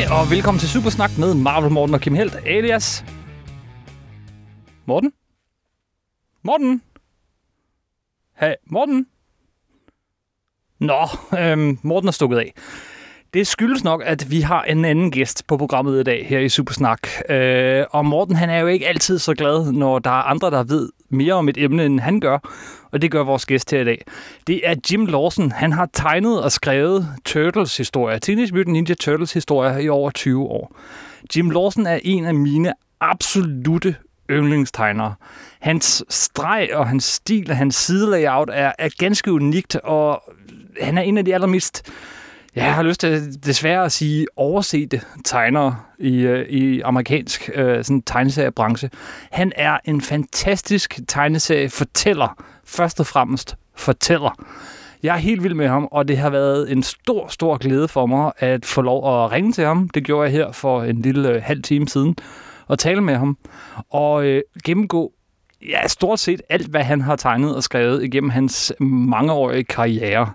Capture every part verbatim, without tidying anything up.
Goddag og velkommen til Supersnak med Marvel Morten og Kim Helt, alias Morten? Morten? Hey, Morten? Nå, øhm, Morten er stukket af. Det skyldes nok, at vi har en anden gæst på programmet i dag her i Supersnak. Øh, og Morten, han er jo ikke altid så glad, når der er andre, der ved mere om et emne, end han gør. Og det gør vores gæst her i dag. Det er Jim Lawson. Han har tegnet og skrevet Turtles-historier, Teenage Mutant Ninja Turtles-historier i over tyve år. Jim Lawson er en af mine absolutte yndlingstegnere. Hans streg og hans stil og hans sidelayout er, er ganske unikt, og han er en af de allermest... Jeg har lyst til desværre at sige oversete tegnere i, i amerikansk øh, sådan tegneseriebranche. Han er en fantastisk tegneseriefortæller. Først og fremmest fortæller. Jeg er helt vild med ham, og det har været en stor, stor glæde for mig at få lov at ringe til ham. Det gjorde jeg her for en lille øh, halv time siden. Og tale med ham. Og øh, gennemgå ja, stort set alt, hvad han har tegnet og skrevet igennem hans mangeårige karriere.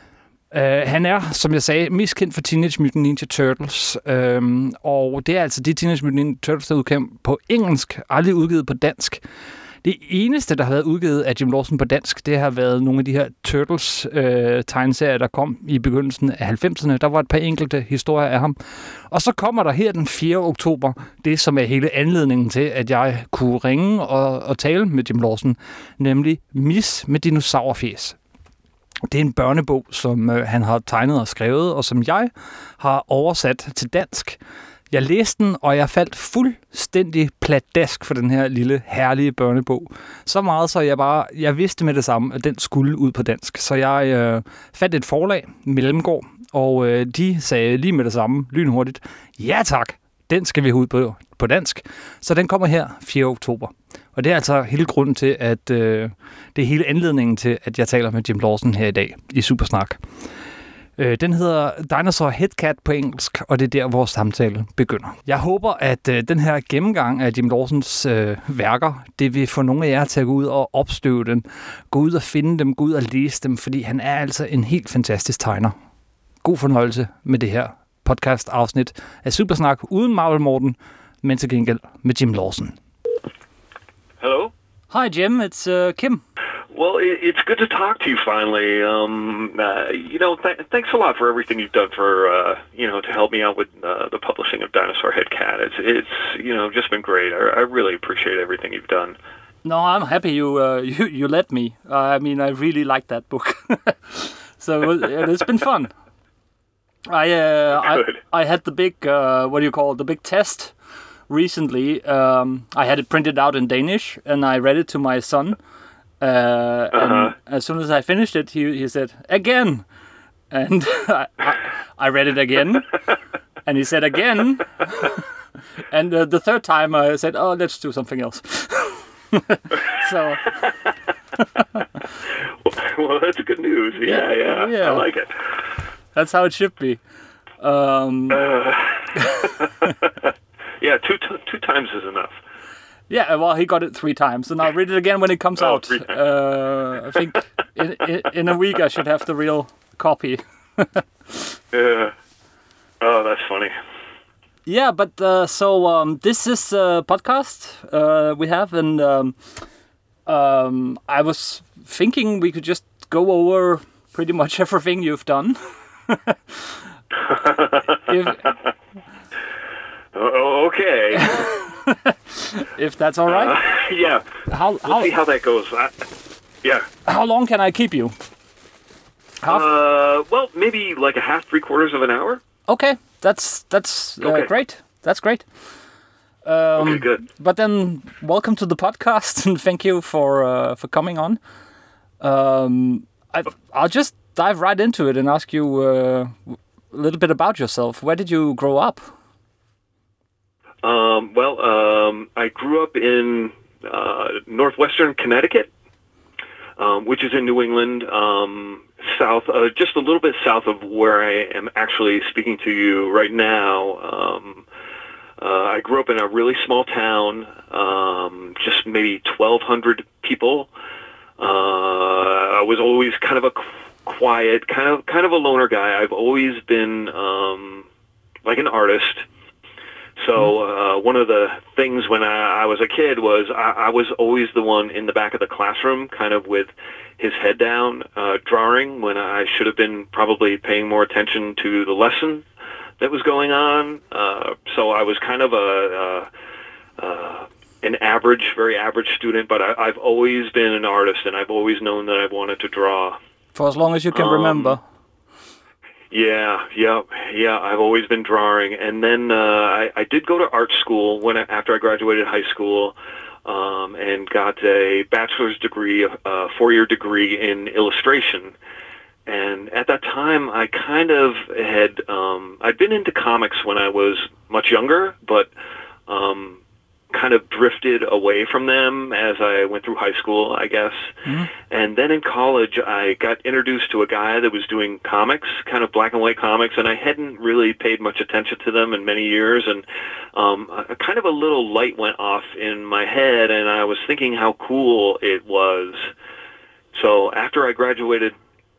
Uh, han er, som jeg sagde, mest kendt for Teenage Mutant Ninja Turtles, uh, og det er altså de Teenage Mutant Ninja Turtles, der er udkommet på engelsk, aldrig udgivet på dansk. Det eneste, der har været udgivet af Jim Lawson på dansk, det har været nogle af de her Turtles-tegneserier, uh, der kom i begyndelsen af halvfemserne. Der var et par enkelte historier af ham. Og så kommer der her den fjerde oktober, det som er hele anledningen til, at jeg kunne ringe og, og tale med Jim Lawson, nemlig Miss med dinosaurfjæs. Det er en børnebog, som øh, han har tegnet og skrevet, og som jeg har oversat til dansk. Jeg læste den, og jeg faldt fuldstændig pladask for den her lille, herlige børnebog. Så meget, så jeg bare jeg vidste med det samme, at den skulle ud på dansk. Så jeg øh, fandt et forlag, Mellemgård, og øh, de sagde lige med det samme, lynhurtigt, ja tak, den skal vi have ud på, på dansk. Så den kommer her fjerde oktober. Og det er altså hele grunden til, at øh, det er hele anledningen til, at jeg taler med Jim Lawson her i dag i Supersnak. Øh, den hedder Dinosaur Headcat på engelsk, og det er der, vores samtale begynder. Jeg håber, at øh, den her gennemgang af Jim Lawsons øh, værker, det vil få nogle af jer til at gå ud og opstøve dem, gå ud og finde dem, gå ud og læse dem, fordi han er altså en helt fantastisk tegner. God fornøjelse med det her podcast-afsnit af Supersnak uden Marvel Morten, men til gengæld med Jim Lawson. Hello? Hi, Jim. It's uh, Kim. Well, it, it's good to talk to you finally. Um, uh, you know, th- thanks a lot for everything you've done for, uh, you know, to help me out with uh, the publishing of Dinosaur Headcat. It's, it's, you know, just been great. I, I really appreciate everything you've done. No, I'm happy you uh, you, you let me. Uh, I mean, I really liked that book. So it's been fun. I, uh, I I had the big, uh, what do you call it, the big test recently. Um, I had it printed out in Danish, and I read it to my son. Uh, uh-huh. And as soon as I finished it, he he said, again. And I, I, I read it again, and he said, again. And uh, the third time I said, oh, let's do something else. So... Well, that's good news. Yeah, yeah, yeah, I like it. That's how it should be. Um, uh, yeah, two t- two times is enough. Yeah, well, he got it three times, and I'll read it again when it comes oh, out. Uh, I think in, in in a week I should have the real copy. Yeah. Oh, that's funny. Yeah, but uh, so um, this is a podcast uh, we have, and um, um, I was thinking we could just go over pretty much everything you've done. if, oh, okay. If that's all right. Uh, yeah. How, we'll how, see how that goes. I, yeah. How long can I keep you? Half? Uh, well, maybe like a half, three quarters of an hour. Okay, that's that's uh, okay. great. That's great. Um, okay, good. But then, welcome to the podcast, and thank you for uh, for coming on. Um, I, I'll just dive right into it and ask you uh, a little bit about yourself. Where did you grow up? Um, well, um, I grew up in uh, northwestern Connecticut, um, which is in New England, um, south, uh, just a little bit south of where I am actually speaking to you right now. Um, uh, I grew up in a really small town, um, just maybe twelve hundred people. Uh, I was always kind of a quiet, kind of kind of a loner guy. I've always been um, like an artist. So uh, one of the things when I, I was a kid was I, I was always the one in the back of the classroom, kind of with his head down, uh, drawing, when I should have been probably paying more attention to the lesson that was going on. Uh, so I was kind of a, a, a an average, very average student, but I, I've always been an artist, and I've always known that I've wanted to draw. For as long as you can um, remember. Yeah, yeah, yeah. I've always been drawing, and then uh, I, I did go to art school when I, after I graduated high school, um, and got a bachelor's degree, a four-year degree in illustration. And at that time, I kind of had um, I'd been into comics when I was much younger, but um, kind of drifted away from them as I went through high school, I guess. Mm-hmm. And then in college, I got introduced to a guy that was doing comics, kind of black and white comics, and I hadn't really paid much attention to them in many years. And um, a, kind of a little light went off in my head, and I was thinking how cool it was. So after I graduated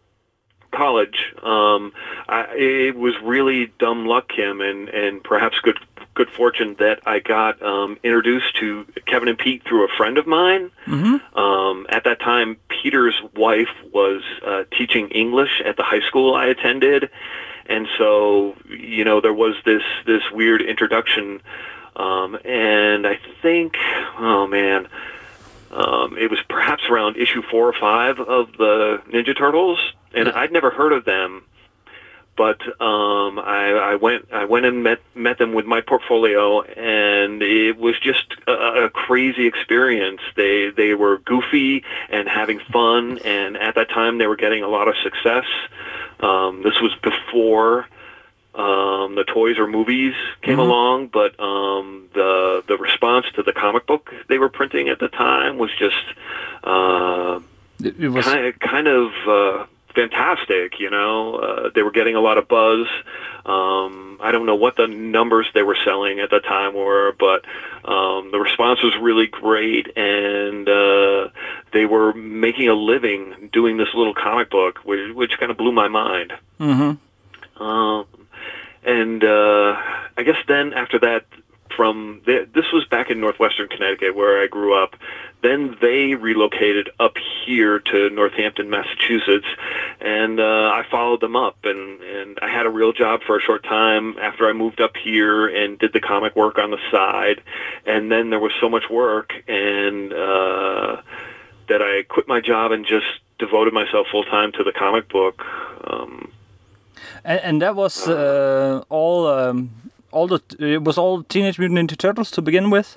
college, um, I, it was really dumb luck, Kim, and, and perhaps good good fortune that I got um, introduced to Kevin and Pete through a friend of mine. Mm-hmm. Um, at that time, Peter's wife was uh, teaching English at the high school I attended, and so, you know, there was this, this weird introduction, um, and I think, oh man, um, it was perhaps around issue four or five of the Ninja Turtles, and yeah. I'd never heard of them. But um, I, I went I went and met met them with my portfolio, and it was just a, a crazy experience. They they were goofy and having fun, and at that time they were getting a lot of success. Um, this was before um, the toys or movies came mm-hmm. along, but um, the the response to the comic book they were printing at the time was just uh, it, it was kind of, kind of uh, fantastic, you know. Uh, they were getting a lot of buzz. Um, I don't know what the numbers they were selling at the time were, but um, the response was really great, and uh, they were making a living doing this little comic book, which, which kind of blew my mind. Mm-hmm. Um, and uh, I guess then after that, from the, this was back in northwestern Connecticut where I grew up. Then they relocated up here to Northampton, Massachusetts, and uh, I followed them up, and, and I had a real job for a short time after I moved up here and did the comic work on the side, and then there was so much work and uh, that I quit my job and just devoted myself full-time to the comic book. Um, and, and that was uh, all... Um All the it was all Teenage Mutant Ninja Turtles to begin with.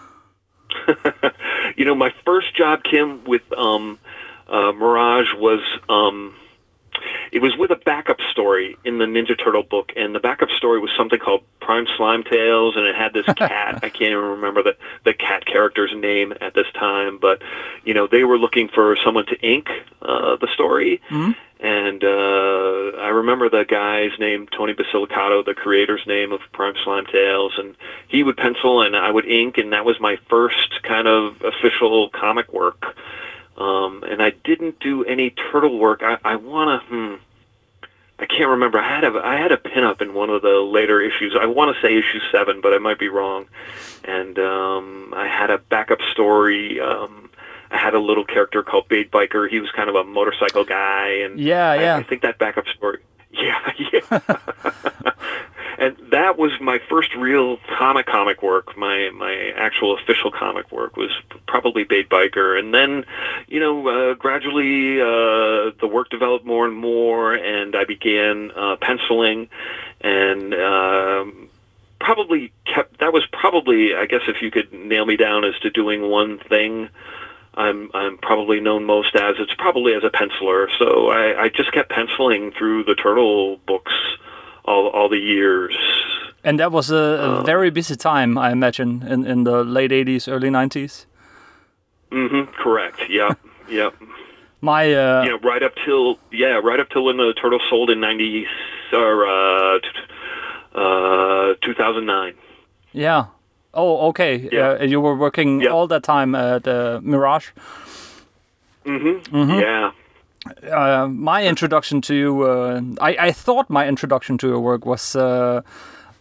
You know, my first job, Kim, with um, uh, Mirage was um, it was with a backup story in the Ninja Turtle book, and the backup story was something called Prime Slime Tales, and it had this cat. I can't even remember the the cat character's name at this time, but you know, they were looking for someone to ink uh, the story. Mm-hmm. And uh, I remember the guy's name, Tony Basilicato, the creator's name of Prime Slime Tales, and he would pencil and I would ink, and that was my first kind of official comic work. Um, and I didn't do any turtle work. I, I want to, hmm, I can't remember. I had a, I had a pinup in one of the later issues. I want to say issue seven, but I might be wrong. And um, I had a backup story. Um, I had a little character called Bait Biker. He was kind of a motorcycle guy, and yeah, yeah. I, I think that backup story. Yeah, yeah. And that was my first real comic comic work. My my actual official comic work was probably Bait Biker, and then, you know, uh, gradually uh, the work developed more and more, and I began uh, penciling, and. Um, Probably kept. That was probably, I guess, if you could nail me down as to doing one thing, I'm I'm probably known most as. It's probably as a penciler. So I, I just kept penciling through the Turtle books all all the years. And that was a, a um, very busy time, I imagine, in, in the late eighties, early nineties. Mm-hmm. Correct. Yeah. Yeah. My. Uh, you know, right up till yeah, right up till when the Turtle sold in ninety or. Uh, Uh, two thousand nine. Yeah. Oh, okay. Yeah. Uh, you were working yeah. all that time at uh, Mirage. Mm-hmm. Mm-hmm. Yeah. Uh, my introduction to you, uh, I, I thought my introduction to your work was uh,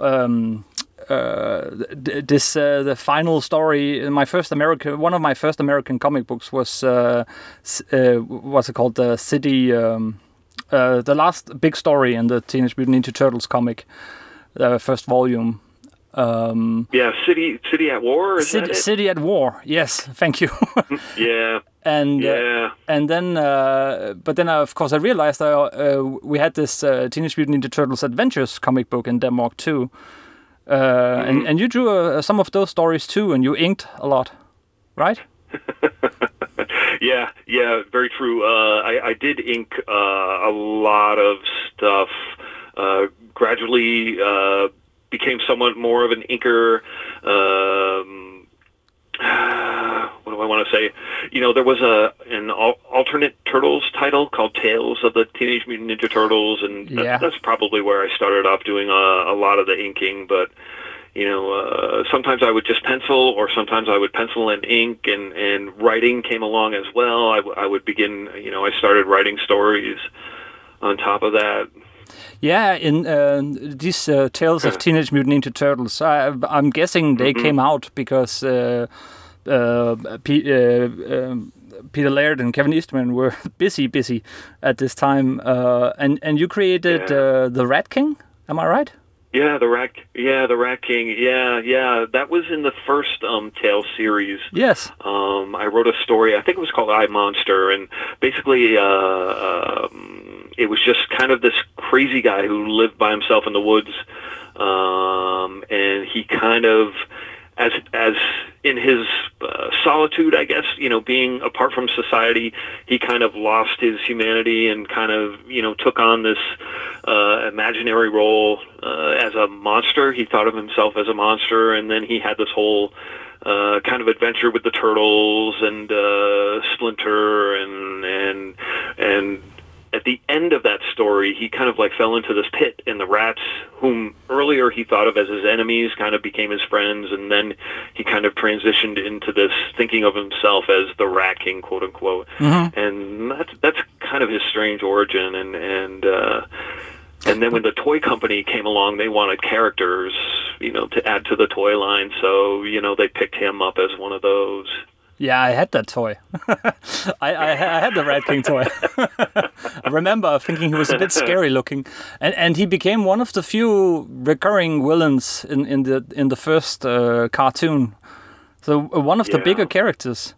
um, uh, th- this uh, the final story. My first American, one of my first American comic books was uh, uh, what's it called? The City, um, uh, the last big story in the Teenage Mutant Ninja Turtles comic, the first volume. Um, yeah, City City at War. Is City, that it? City at War. Yes, thank you. yeah. And yeah, uh, and then, uh, but then, uh, of course, I realized uh, uh, we had this uh, Teenage Mutant Ninja Turtles Adventures comic book in Denmark too, uh, mm-hmm. and and you drew uh, some of those stories too, and you inked a lot, right? yeah, yeah, very true. Uh, I, I did ink uh, a lot of stuff. Uh, gradually, uh, became somewhat more of an inker. Um, what do I want to say? You know, there was a an al- alternate Turtles title called Tales of the Teenage Mutant Ninja Turtles, and yeah. that, that's probably where I started off doing a, a lot of the inking. But you know, uh, sometimes I would just pencil, or sometimes I would pencil and ink, and, and writing came along as well. I, w- I would begin, you know, I started writing stories on top of that. Yeah, in uh, these uh, Tales of Teenage Mutant Ninja Turtles, I, I'm guessing they mm-hmm. came out because uh, uh, P- uh, um, Peter Laird and Kevin Eastman were busy, busy at this time. Uh, and and you created yeah. uh, the Rat King, am I right? Yeah, the Rat, yeah, the Rat King. Yeah, yeah, that was in the first um, Tales series. Yes. Um, I wrote a story. I think it was called I Monster, and basically, uh, um, it was just kind of this crazy guy who lived by himself in the woods, um, and he kind of, as as in his uh, solitude, I guess, you know, being apart from society, he kind of lost his humanity and kind of, you know, took on this uh, imaginary role uh, as a monster. He thought of himself as a monster, and then he had this whole uh, kind of adventure with the Turtles and uh, Splinter, and and and at the end of that story, he kind of like fell into this pit, and the rats, whom earlier he thought of as his enemies, kind of became his friends, and then he kind of transitioned into this thinking of himself as the Rat King, quote unquote. Mm-hmm. And that's that's kind of his strange origin. And and uh, and then when the toy company came along, they wanted characters, you know, to add to the toy line. So you know, they picked him up as one of those. Yeah, I had that toy. I, I, I had the Rat King toy. I remember thinking he was a bit scary looking, and and he became one of the few recurring villains in, in the in the first uh, cartoon. So one of yeah. the bigger characters.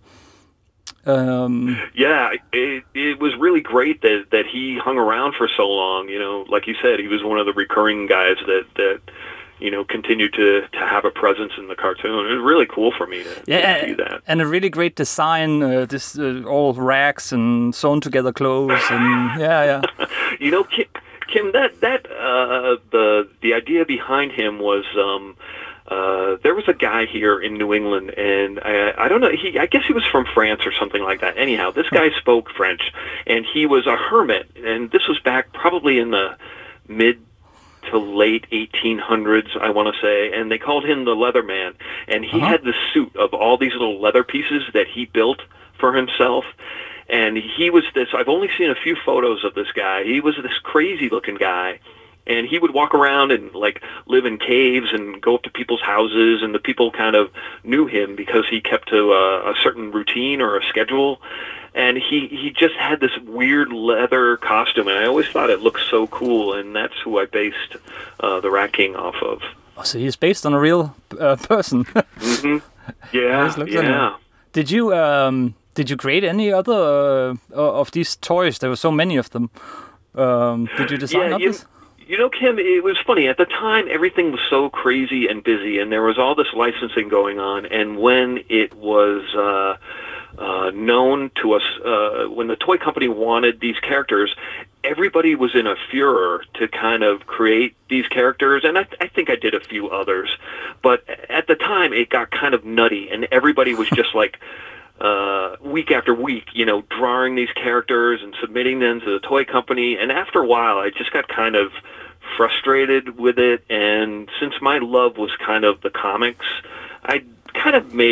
Um, yeah, it it was really great that that he hung around for so long. You know, like you said, he was one of the recurring guys that that. you know, continue to, to have a presence in the cartoon. It was really cool for me to, yeah, to see that. And a really great design, uh, this uh, all rags and sewn together clothes, and yeah, yeah. You know, Kim, Kim that that uh, the the idea behind him was um, uh, there was a guy here in New England, and I, I don't know, he I guess he was from France or something like that. Anyhow, this guy spoke French, and he was a hermit, and this was back probably in the mid to late eighteen hundreds, I want to say, and they called him the Leatherman, and he uh-huh. had this suit of all these little leather pieces that he built for himself, and he was this, I've only seen a few photos of this guy, he was this crazy looking guy, and he would walk around and like live in caves and go up to people's houses, and the people kind of knew him because he kept to a, a certain routine or a schedule. And he, he just had this weird leather costume, and I always thought it looked so cool, and that's who I based uh, the Rat King off of. Oh, so he's based on a real uh, person. mm-hmm. Yeah, yeah. Did you um, did you create any other uh, of these toys? There were so many of them. Um, did you design yeah, others? You, you know, Kim, it was funny. At the time, everything was so crazy and busy, and there was all this licensing going on, and when it was... Uh, Uh, known to us, uh, when the toy company wanted these characters, everybody was in a furor to kind of create these characters, and I, th- I think I did a few others, but at the time it got kind of nutty, and everybody was just like, uh, week after week, you know, drawing these characters and submitting them to the toy company, and after a while I just got kind of frustrated with it, and since my love was kind of the comics, I kind of made a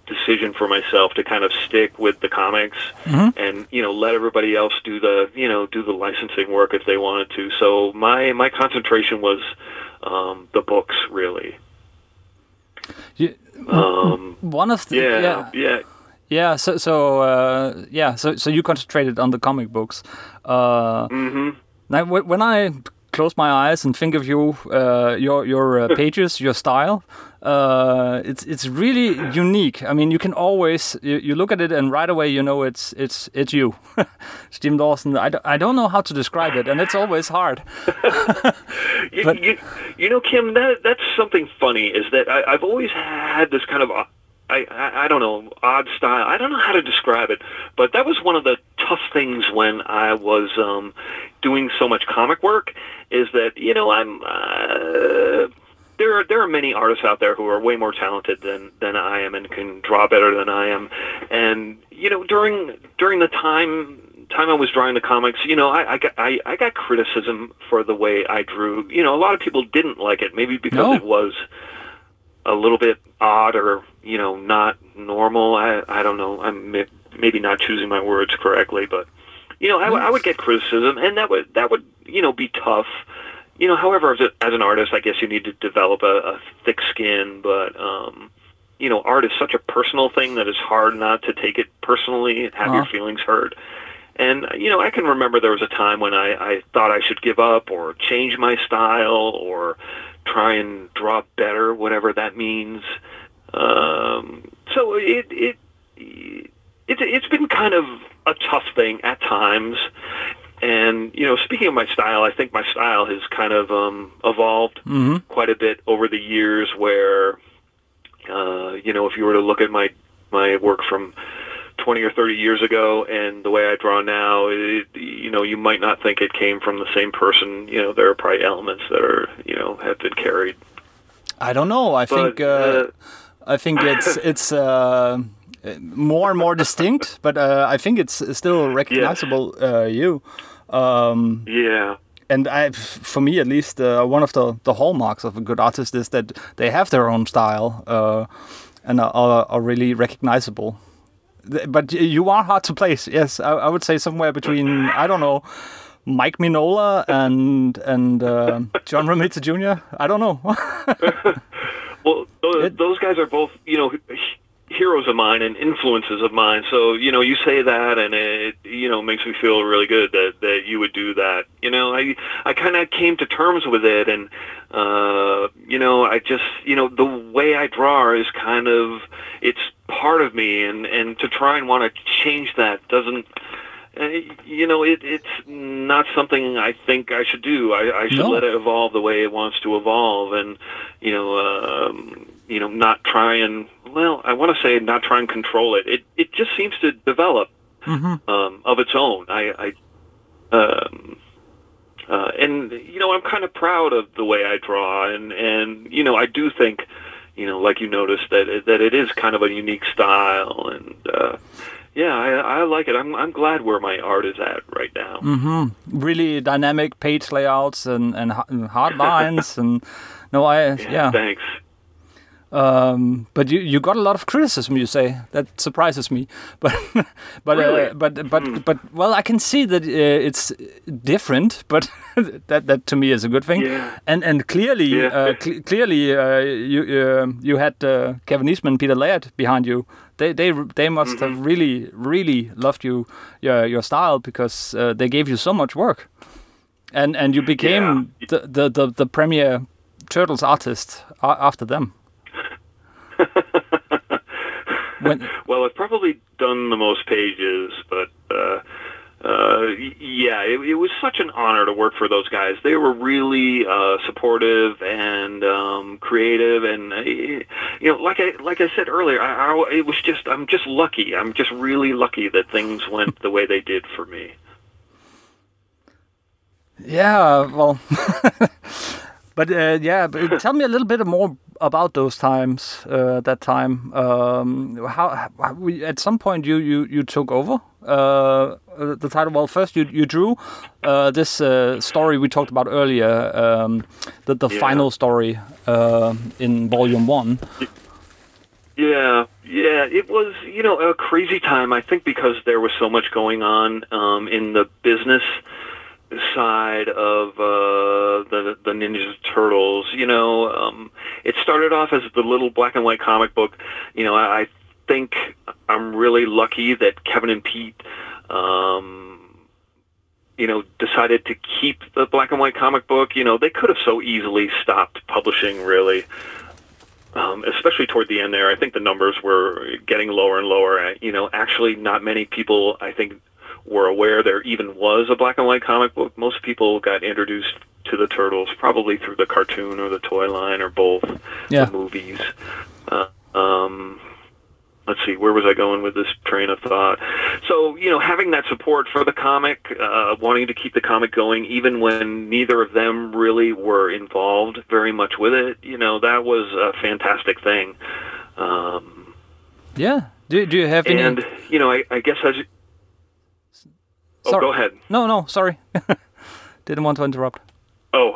decision for myself to kind of stick with the comics Mm-hmm. and, you know, let everybody else do the, you know, do the licensing work if they wanted to. So my, my concentration was um, the books, really. You, Um, one of the yeah, yeah yeah. yeah. So so uh, yeah. So so you concentrated on the comic books. Uh, hmm Now, wh- when I close my eyes and think of you, uh, your your uh, pages, your style, uh, it's it's really unique. I mean, you can always you, you look at it and right away you know it's it's it's you, Jim Dawson. I, d- I don't know how to describe it, and it's always hard. you, But- you, you know, Kim, that that's something funny. Is that I, I've always had this kind of, I, I I don't know, odd style. I don't know how to describe it, but that was one of the tough things when I was um, doing so much comic work. Is that you know I'm. Uh, There are there are many artists out there who are way more talented than, than I am and can draw better than I am. And you know, during during the time time I was drawing the comics, you know, I, I got I, I got criticism for the way I drew. You know, a lot of people didn't like it, maybe because No. it was a little bit odd or you know not normal. I I don't know. I'm maybe not choosing my words correctly, but you know, I, w- I would get criticism, and that would that would you know be tough. You know, however, as, a, as an artist, I guess you need to develop a, a thick skin, but, um, you know, art is such a personal thing that it's hard not to take it personally and have Uh-huh. your feelings hurt. And, you know, I can remember there was a time when I, I thought I should give up or change my style or try and draw better, whatever that means. Um, so it, it, it, it's been kind of a tough thing at times. And, you know, speaking of my style, I think my style has kind of um, evolved Mm-hmm. quite a bit over the years where, uh, you know, if you were to look at my, my work from twenty or thirty years ago and the way I draw now, it, you know, you might not think it came from the same person. You know, there are probably elements that are, you know, have been carried. I don't know. I But, think uh, uh, I think it's it's uh, more and more distinct, but uh, I think it's still recognizable. Uh, you. Um, yeah. and I, for me at least, uh, one of the, the hallmarks of a good artist is that they have their own style uh, and are, are, are really recognizable. Th- But y- you are hard to place. Yes, I, I would say somewhere between I don't know, Mike Mignola and and uh, John Romita Junior I don't know. Well, those, It- those guys are both, you know, h- heroes of mine and influences of mine. So, you know, you say that and it, you know, makes me feel really good that, that you would do that. You know, I, I kind of came to terms with it and, uh, you know, I just, you know, the way I draw is kind of, it's part of me and, and to try and want to change that doesn't, uh, you know, it, it's not something I think I should do. I, I should No. let it evolve the way it wants to evolve and, you know, um, you know, not try and, well, I want to say not try and control it. It it just seems to develop Mm-hmm. um, of its own. I, I um, uh, and you know, I'm kind of proud of the way I draw, and and you know, I do think, you know, like you noticed that it, that it is kind of a unique style, and uh, yeah, I, I like it. I'm I'm glad where my art is at right now. Mm-hmm. Really dynamic page layouts and and, ha- and hard lines and no, I yeah. Thanks. Um, but you, you got a lot of criticism, you say. That surprises me. But but Really? uh, but but but well, I can see that uh, it's different. But that that to me is a good thing. Yeah. And and clearly Yeah. uh, cl- clearly uh, you uh, you had uh, Kevin Eastman, Peter Laird behind you. They they they must have really really loved you your your style because uh, they gave you so much work. And and you became Yeah. the, the the the premier Turtles artist a- after them. When, Well, I've probably done the most pages, but uh, uh, y- yeah, it, it was such an honor to work for those guys. They were really uh, supportive and um, creative, and uh, you know, like I like I said earlier, I, I, it was just I'm just lucky. I'm just really lucky that things went the way they did for me. yeah, well, but uh, yeah, but tell me a little bit more about those times. Uh, that time, um, how, how we, at some point you you you took over uh, the title. Well, first you you drew uh, this uh, story we talked about earlier, um, the the Yeah. final story uh, in volume one. Yeah, Yeah, it was, you know, a crazy time, I think, because there was so much going on um, in the business side of uh, the the Ninja Turtles. You know, um, it started off as the little black and white comic book. You know, I, I think I'm really lucky that Kevin and Pete, um, you know, decided to keep the black and white comic book. You know, they could have so easily stopped publishing, really. Um, especially toward the end there, I think the numbers were getting lower and lower. You know, actually not many people, I think, were aware there even was a black and white comic book. Most people got introduced to the Turtles probably through the cartoon or the toy line or both, yeah. the movies. Uh, um, let's see, where was I going with this train of thought? So, you know, having that support for the comic, uh, wanting to keep the comic going, even when neither of them really were involved very much with it, you know, that was a fantastic thing. Um, yeah. Do, do you have any... And, you know, I, I guess as... Oh, sorry. Go ahead. No, no, sorry. Didn't want to interrupt. Oh.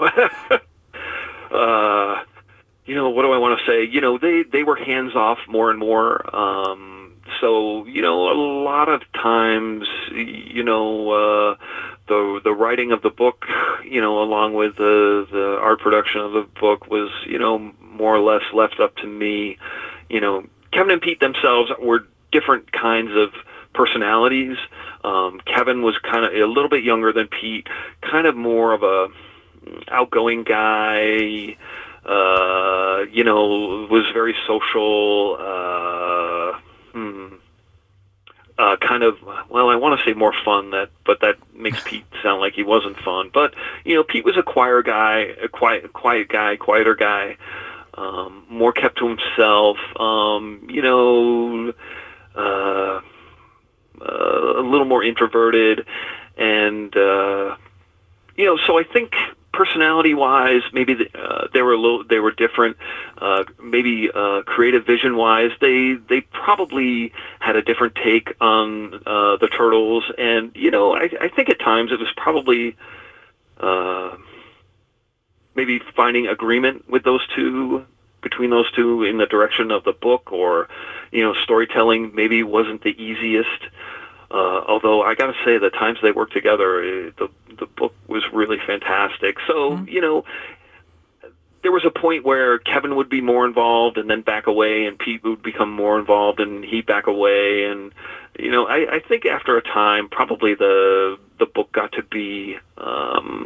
uh... You know, what do I want to say? You know, they, they were hands-off more and more. Um, so, you know, a lot of times, you know, uh, the the writing of the book, you know, along with the, the art production of the book was, you know, more or less left up to me. You know, Kevin and Pete themselves were different kinds of personalities. Um, Kevin was kind of a little bit younger than Pete, kind of more of a outgoing guy. Uh, you know, was very social, uh, hmm, uh, kind of, well, I want to say more fun, that, but that makes Pete sound like he wasn't fun. But, you know, Pete was a quieter guy, a quiet, quiet guy, quieter guy, um, more kept to himself, um, you know, uh, uh, a little more introverted, and, uh, you know, so I think, personality-wise, maybe the, uh, they were a little, they were different. Uh, maybe uh, creative vision-wise, they they probably had a different take on uh, the Turtles. And you know, I, I think at times it was probably uh, maybe finding agreement with those two, between those two, in the direction of the book, or you know, storytelling maybe wasn't the easiest. Uh, although I got to say, the times they worked together, uh, the the book was really fantastic. So mm-hmm. you know, there was a point where Kevin would be more involved and then back away, and Pete would become more involved and he'd back away. And you know, I, I think after a time, probably the the book got to be um,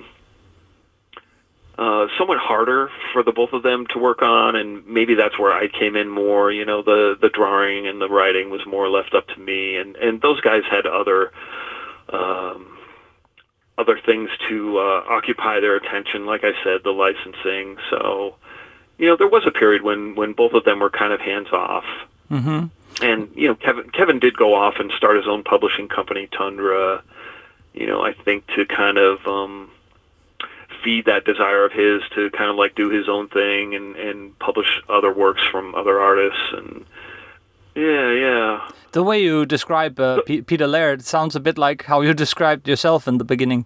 uh, somewhat harder for the both of them to work on, and maybe that's where I came in more. You know, the the drawing and the writing was more left up to me, and and those guys had other um, other things to uh, occupy their attention. Like I said, the licensing. So, you know, there was a period when when both of them were kind of hands off. Mm-hmm. And you know, Kevin Kevin did go off and start his own publishing company, Tundra. You know, I think to kind of um, feed that desire of his to kind of like do his own thing and, and publish other works from other artists. And yeah, yeah. The way you describe uh, P- Peter Laird sounds a bit like how you described yourself in the beginning.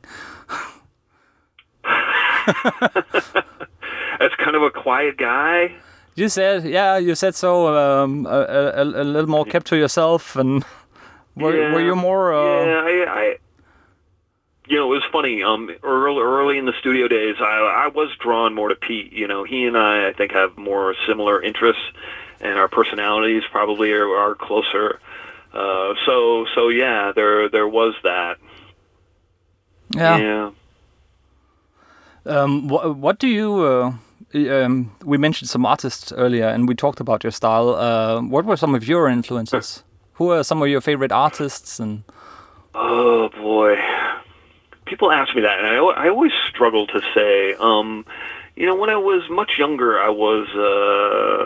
As kind of a quiet guy. You said, yeah, you said so. Um, a, a, a little more kept to yourself, and were yeah, were you more? Uh... Yeah, I, I. You know, it was funny. Um, early, early in the studio days, I, I was drawn more to Pete. You know, he and I, I think, have more similar interests, and our personalities probably are, are closer. Uh, so, so yeah, there, there was that. Yeah. Yeah. Um, what, what do you? Uh, um, we mentioned some artists earlier, and we talked about your style. Uh, what were some of your influences? Who are some of your favorite artists? And oh boy. People ask me that, and I, I always struggle to say. Um, you know, when I was much younger, I was. Uh,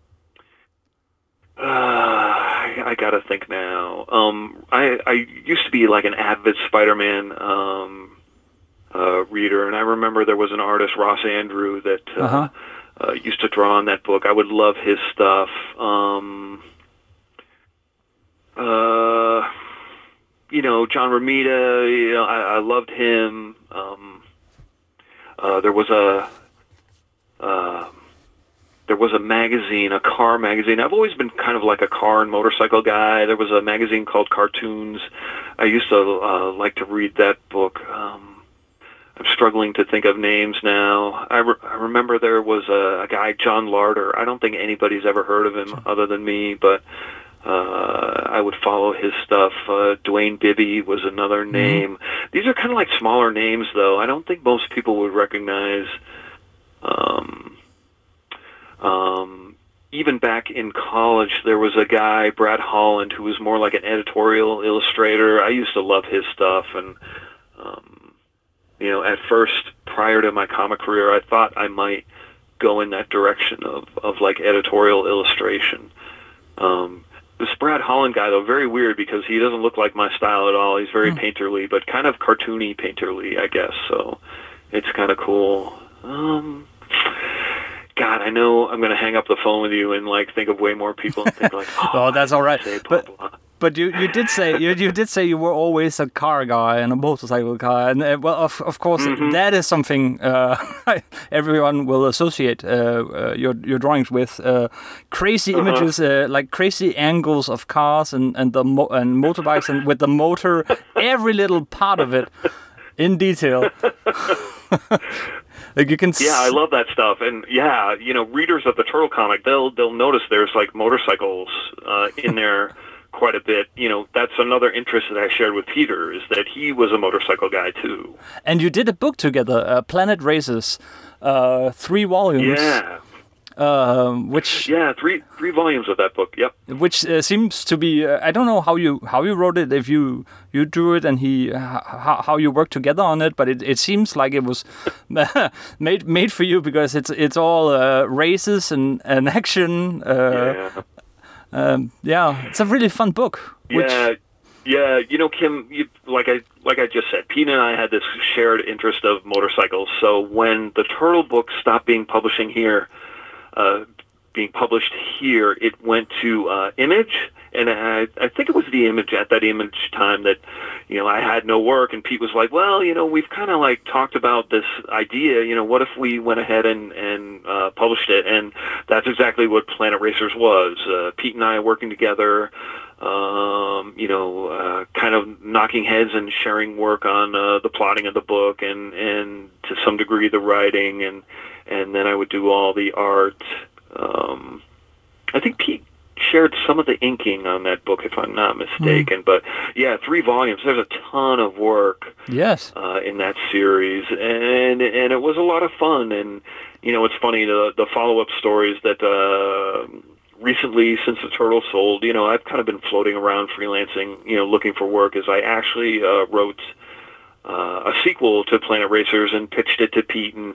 uh, I, I gotta think now. Um, I, I used to be like an avid Spider-Man um, uh, reader, and I remember there was an artist, Ross Andrew, that uh, uh-huh. uh, used to draw on that book. I would love his stuff. Um, uh. You know, John Romita, you know, I, I loved him. Um, uh, there was a uh, there was a magazine, a car magazine. I've always been kind of like a car and motorcycle guy. There was a magazine called Cartoons. I used to uh, like to read that book. Um, I'm struggling to think of names now. I, re- I remember there was a, a guy, John Larder. I don't think anybody's ever heard of him other than me, but uh, I would follow his stuff. Uh, Dwayne Bibby was another name. Mm-hmm. These are kind of like smaller names, though. I don't think most people would recognize... Um, um, even back in college, there was a guy, Brad Holland, who was more like an editorial illustrator. I used to love his stuff, and... Um, You know, at first, prior to my comic career, I thought I might go in that direction of, of like editorial illustration. Um, this Brad Holland guy, though, very weird because he doesn't look like my style at all. He's very mm. painterly, but kind of cartoony painterly, I guess. So it's kind of cool. Um, God, I know I'm going to hang up the phone with you and like think of way more people and think like, oh, oh that's all right. But, But you, you did say you, you did say you were always a car guy and a motorcycle guy, and uh, well, of of course mm-hmm. that is something uh, everyone will associate uh, uh, your your drawings with. Uh, crazy uh-huh. images, uh, like crazy angles of cars and and the mo- and motorbikes, and with the motor, every little part of it in detail. Like you can. Yeah, I love that stuff, and yeah, you know, readers of the Turtle comic, they'll they'll notice there's like motorcycles uh, in there. Quite a bit, you know. That's another interest that I shared with Peter, is that he was a motorcycle guy too. And you did a book together, uh, Planet Races, uh, three volumes. Yeah. Uh, which yeah, three three volumes of that book. Yep. Which uh, seems to be uh, I don't know how you how you wrote it, if you you drew it and he how, how you worked together on it, but it, it seems like it was made made for you because it's it's all uh, races and, and action. Uh, yeah. Um, yeah, it's a really fun book. Which... Yeah, yeah. You know, Kim, you, like I like I just said, Pete and I had this shared interest of motorcycles. So when the Turtle book stopped being publishing here, uh, being published here, it went to uh, Image, and I, I think it was the Image at that Image time that, you know, I had no work, and Pete was like, well, you know, we've kind of like talked about this idea, you know, what if we went ahead and, and uh, published it? And that's exactly what Planet Racers was. Uh, Pete and I working together, um, you know, uh, kind of knocking heads and sharing work on uh, the plotting of the book and, and to some degree the writing, and, and then I would do all the art. Um, I think Pete shared some of the inking on that book, if I'm not mistaken. Mm. But yeah, three volumes. There's a ton of work. Yes. Uh, in that series, and and it was a lot of fun. And you know, it's funny, the the follow up stories that uh, recently, since the Turtle sold, you know, I've kind of been floating around freelancing, you know, looking for work. As I actually uh, wrote uh, a sequel to Planet Racers and pitched it to Pete, and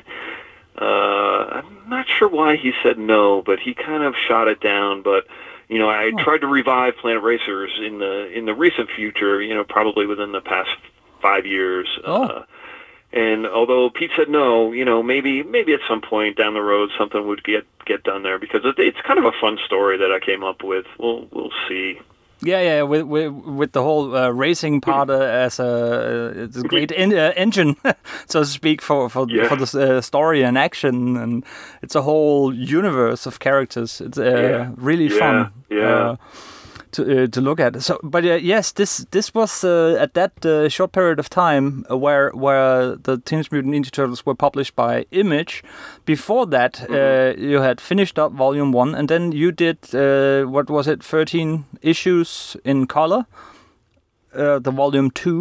uh, I'm not sure why he said no, but he kind of shot it down. But you know, I tried to revive Planet Racers in the in the recent future, you know, probably within the past five years. Oh. Uh, and although Pete said no, you know, maybe maybe at some point down the road something would get get done there, because it, it's kind of a fun story that I came up with. We'll we'll see. Yeah, yeah, with with, with the whole uh, racing part uh, as a, uh, it's a great en- uh, engine, so to speak, for for, yeah. for the uh, story and action, and it's a whole universe of characters. It's uh, yeah. really yeah. fun. Yeah. Uh, to uh, to look at. So, but uh, yes, this this was uh, at that uh, short period of time where where the Teenage Mutant Ninja Turtles were published by Image. Before that, mm-hmm. uh, you had finished up Volume One, and then you did uh, what was it, thirteen issues in color? Uh, the Volume Two.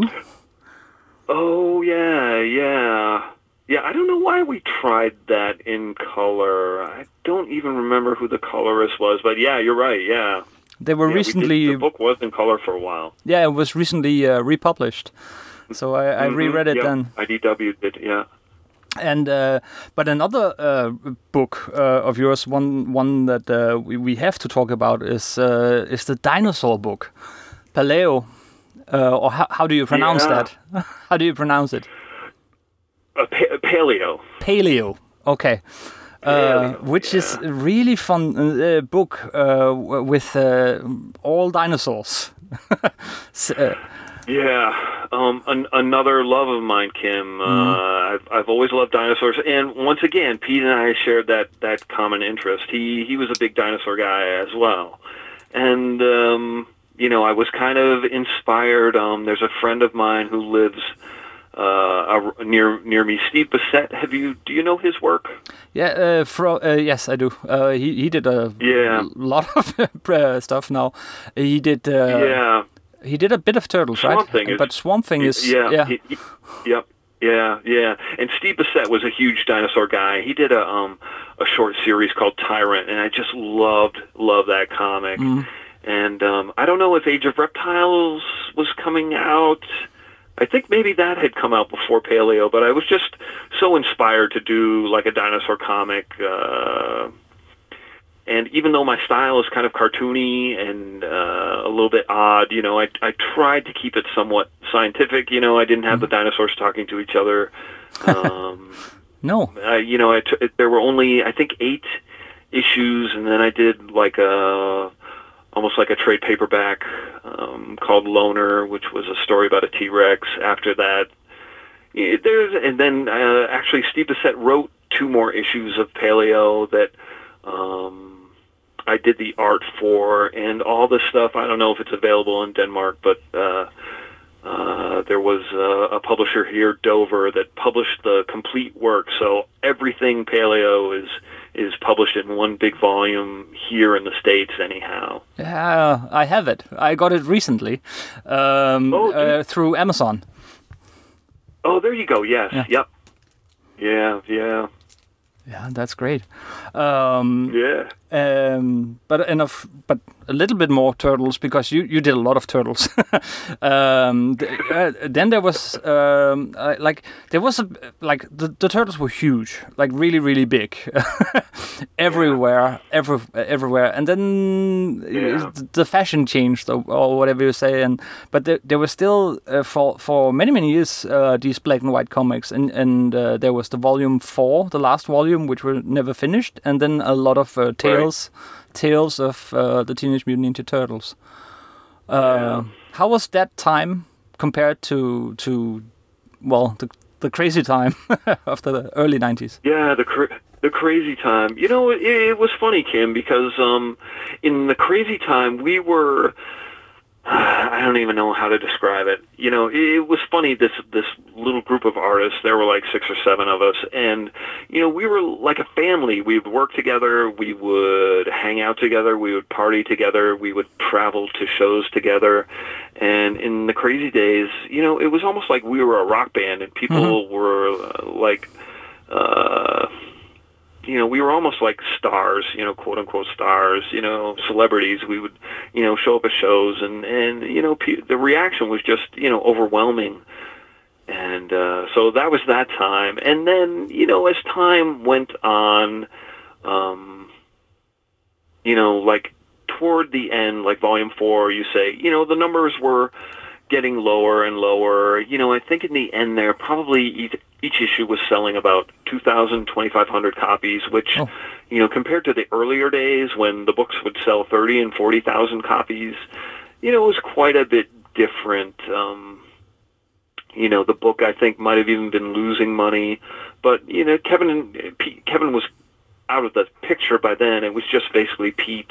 Oh yeah, yeah, yeah. I don't know why we tried that in color. I don't even remember who the colorist was, but yeah, you're right. Yeah. They were yeah, recently. We did, the book was in color for a while. Yeah, it was recently uh, republished, so I, I mm-hmm, reread it yeah. then. I D W'd it, yeah. And uh, but another uh, book uh, of yours, one one that uh, we we have to talk about is uh, is the dinosaur book, Paleo, uh, or how how do you pronounce yeah. that? How do you pronounce it? Uh, pa- paleo. Paleo. Okay. Uh, which yeah. is a really fun uh, book uh, with uh, all dinosaurs. so, uh, Yeah, um, an, another love of mine, Kim. Uh, Mm. I've I've always loved dinosaurs, and once again, Pete and I shared that that common interest. He he was a big dinosaur guy as well, and um, you know, I was kind of inspired. Um, there's a friend of mine who lives uh, a, near near me, Steve Bissett. Have you do you know his work? Yeah, uh, fro- uh, yes, I do. Uh, he he did a Yeah. lot of uh, stuff now. He did. Uh, Yeah. He did a bit of turtles, Swamp right? Thing is, But Swamp Thing is yeah, yeah. he, he, yep, yeah, yeah. And Steve Bissett was a huge dinosaur guy. He did a um a short series called Tyrant, and I just loved loved that comic. Mm. And um, I don't know if Age of Reptiles was coming out. I think maybe that had come out before Paleo, but I was just so inspired to do like a dinosaur comic. Uh, And even though my style is kind of cartoony and uh, a little bit odd, you know, I I tried to keep it somewhat scientific. You know, I didn't have the dinosaurs talking to each other. Um, No. I, you know, I t- there were only I think eight issues, and then I did like a almost like a trade paperback um, called Loner, which was a story about a T-Rex. After that, yeah, there's and then uh, actually Steve Bissett wrote two more issues of Paleo that. Um, I did the art for, and all this stuff. I don't know if it's available in Denmark, but uh, uh, there was uh, a publisher here, Dover, that published the complete work. So everything Paleo is is published in one big volume here in the States, anyhow. Yeah, I have it. I got it recently um, Oh, uh, through Amazon. Oh, there you go. Yes. Yeah. Yep. Yeah. Yeah. Yeah, that's great. Um, Yeah. Um, but enough, but a little bit more turtles because you, you did a lot of turtles. um, th- uh, then there was um, uh, like there was a like the, the turtles were huge, like really really big, everywhere, every everywhere. And then Yeah. the, the fashion changed or, or whatever you say. And but there, there was still uh, for for many many years uh, these black and white comics, and and uh, there was the volume four, the last volume, which were never finished, and then a lot of uh, tales. Right. Tales of uh, the Teenage Mutant Ninja Turtles. Uh, Yeah. How was that time compared to to well the the crazy time after the early nineties? Yeah, the cra- the crazy time. You know, it, it was funny, Kim, because um, in the crazy time we were. I don't even know how to describe it. You know, it was funny, this this little group of artists, there were like six or seven of us, and, you know, we were like a family. We would work together, we would hang out together, we would party together, we would travel to shows together, and in the crazy days, you know, it was almost like we were a rock band, and people mm-hmm. were uh, like... Uh, you know, we were almost like stars, you know, quote unquote stars, you know, celebrities. We would, you know, show up at shows, and, and you know, pe- the reaction was just, you know, overwhelming. And uh, so that was that time. And then, you know, as time went on, um, you know, like toward the end, like volume four, you say, you know, the numbers were getting lower and lower. You know, I think in the end there, probably each, each issue was selling about two thousand, twenty-five hundred copies, which, oh. you know, compared to the earlier days when the books would sell thirty and forty thousand copies, you know, it was quite a bit different. Um, you know, the book, I think, might have even been losing money. But, you know, Kevin and Pete, Kevin was out of the picture by then. It was just basically Pete.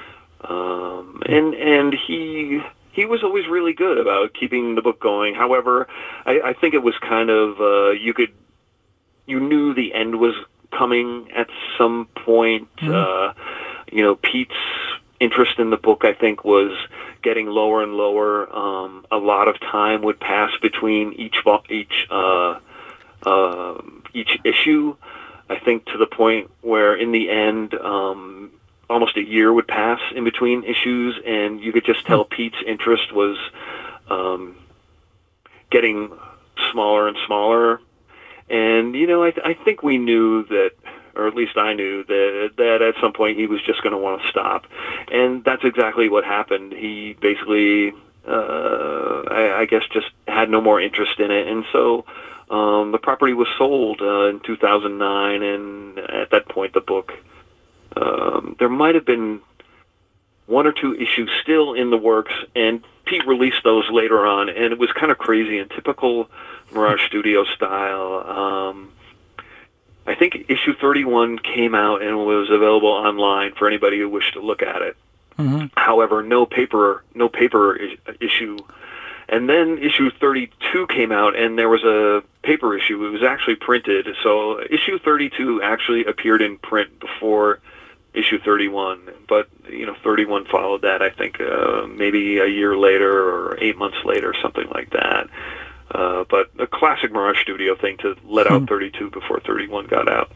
Um, and and he... He was always really good about keeping the book going. However, I, I think it was kind of, uh, you could, you knew the end was coming at some point. Mm-hmm. Uh, you know, Pete's interest in the book, I think, was getting lower and lower. Um, a lot of time would pass between each each uh, uh, each issue. I think to the point where, in the end, um, almost a year would pass in between issues, and you could just tell Pete's interest was um, getting smaller and smaller. And, you know, I, th- I think we knew that, or at least I knew, that that at some point he was just going to want to stop. And that's exactly what happened. He basically, uh, I, I guess, just had no more interest in it. And so um, the property was sold uh, in two thousand nine, and at that point the book... Um, there might have been one or two issues still in the works, and Pete released those later on, and it was kind of crazy in typical Mirage Studio style. Um, I think issue thirty-one came out and was available online for anybody who wished to look at it. Mm-hmm. However, no paper, no paper is- issue. And then issue thirty-two came out, and there was a paper issue. It was actually printed. So issue thirty-two actually appeared in print before issue thirty-one. But, you know, thirty-one followed that, I think, uh, maybe a year later or eight months later, something like that. Uh, but a classic Mirage Studio thing to let out thirty-two before thirty-one got out.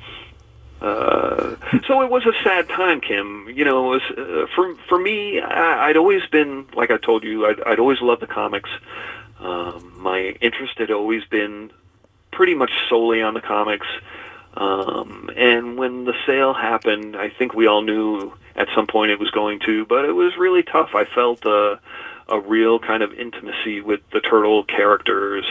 Uh, so it was a sad time, Kim. You know, it was, uh, for for me, I, I'd always been, like I told you, I'd, I'd always loved the comics. Um, my interest had always been pretty much solely on the comics. Um, and when the sale happened, I think we all knew at some point it was going to, but it was really tough. I felt uh, a real kind of intimacy with the Turtle characters.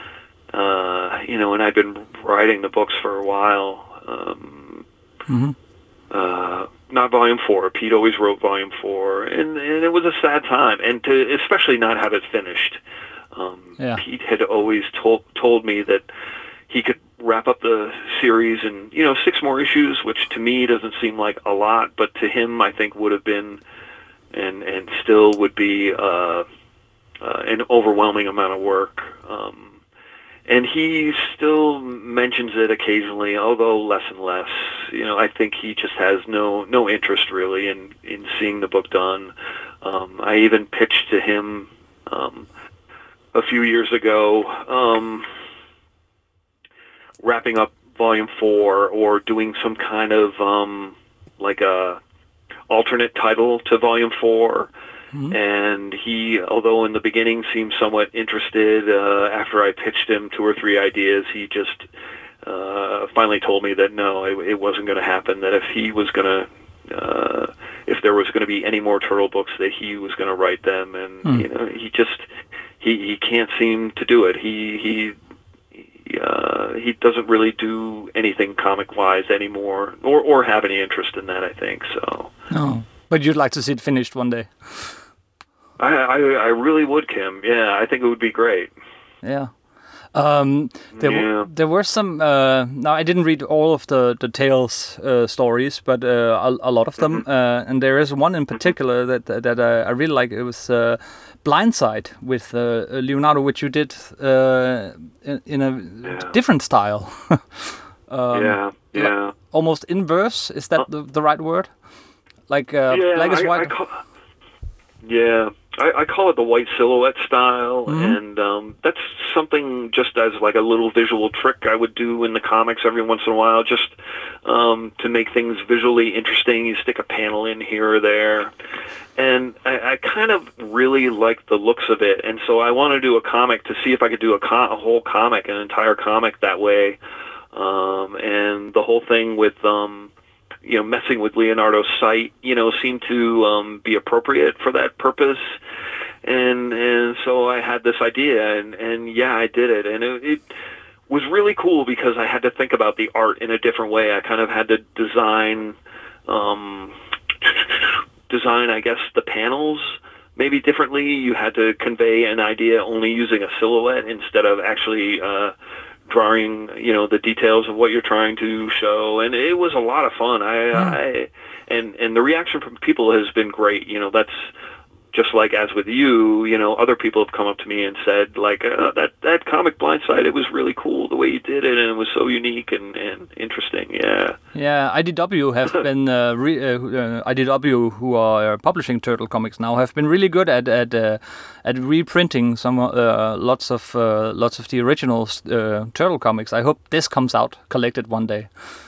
Uh, you know, and I'd been writing the books for a while. Um, Mm-hmm. Uh, not volume four. Pete always wrote volume four, and, and it was a sad time, and to especially not have it finished. Um, yeah. Pete had always told told me that he could wrap up the series in you know six more issues, which to me doesn't seem like a lot, but to him I think would have been, and and still would be uh, uh, an overwhelming amount of work. Um, And he still mentions it occasionally, although less and less. You know, I think he just has no no interest really in, in seeing the book done. Um, I even pitched to him um, a few years ago, um, wrapping up Volume Four or doing some kind of um, like a alternate title to Volume Four. Mm-hmm. And he, although in the beginning seemed somewhat interested, uh, after I pitched him two or three ideas, he just uh, finally told me that no, it, it wasn't going to happen, that if he was going to, uh, if there was going to be any more Turtle books, that he was going to write them. And, mm. you know, he just, he, he can't seem to do it. He, he, he, uh, he doesn't really do anything comic-wise anymore, or, or have any interest in that, I think, so. No, but you'd like to see it finished one day. I, I I really would, Kim. Yeah, I think it would be great. Yeah. Um, there, yeah. W- there were some. Uh, now I didn't read all of the the Tales uh, stories, but uh, a, a lot of them. Mm-hmm. Uh, and there is one in particular that that uh, I really like. It was uh, Blindside with uh, Leonardo, which you did uh, in, in a yeah. different style. um, yeah. Yeah. Like almost inverse. Is that uh, the the right word? Like uh, yeah, black is I, white. I call, yeah. I, I call it the white silhouette style, mm-hmm. and um, that's something just as like a little visual trick I would do in the comics every once in a while, just um, to make things visually interesting. You stick a panel in here or there, and I, I kind of really like the looks of it, and so I want to do a comic to see if I could do a, co- a whole comic, an entire comic that way, um, and the whole thing with... Um, you know, messing with Leonardo's sight, you know, seemed to um, be appropriate for that purpose. And and so I had this idea, and, and yeah, I did it. And it, it was really cool because I had to think about the art in a different way. I kind of had to design, um, design, I guess, the panels maybe differently. You had to convey an idea only using a silhouette instead of actually... Uh, drawing, you know, the details of what you're trying to show, and it was a lot of fun. I, mm. I and and the reaction from people has been great. You know, that's just like as with you. You know, other people have come up to me and said, like, uh, that that comic Blindside, it was really cool the way you did it, and it was so unique and, and interesting. Yeah. Yeah, I D W have been uh, re, uh, I D W, who are publishing Turtle comics now, have been really good at at uh, at reprinting some uh, lots of uh, lots of the original uh, Turtle comics. I hope this comes out collected one day.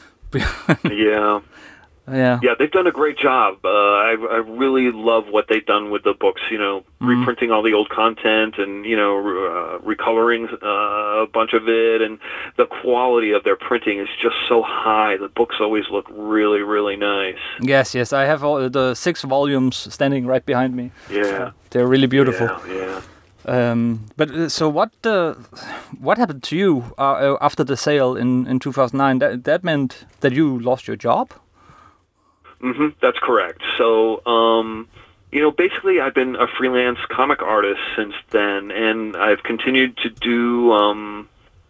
yeah. Yeah, yeah, they've done a great job. Uh, I, I really love what they've done with the books. You know, mm-hmm. reprinting all the old content and you know, uh, recoloring uh, a bunch of it, and the quality of their printing is just so high. The books always look really, really nice. Yes, yes, I have all the six volumes standing right behind me. Yeah, uh, they're really beautiful. Yeah, yeah. Um, but uh, so what? Uh, what happened to you uh, after the sale in in two thousand nine? That that meant that you lost your job. Mm-hmm, that's correct. So, um, you know, basically I've been a freelance comic artist since then, and I've continued to do, um,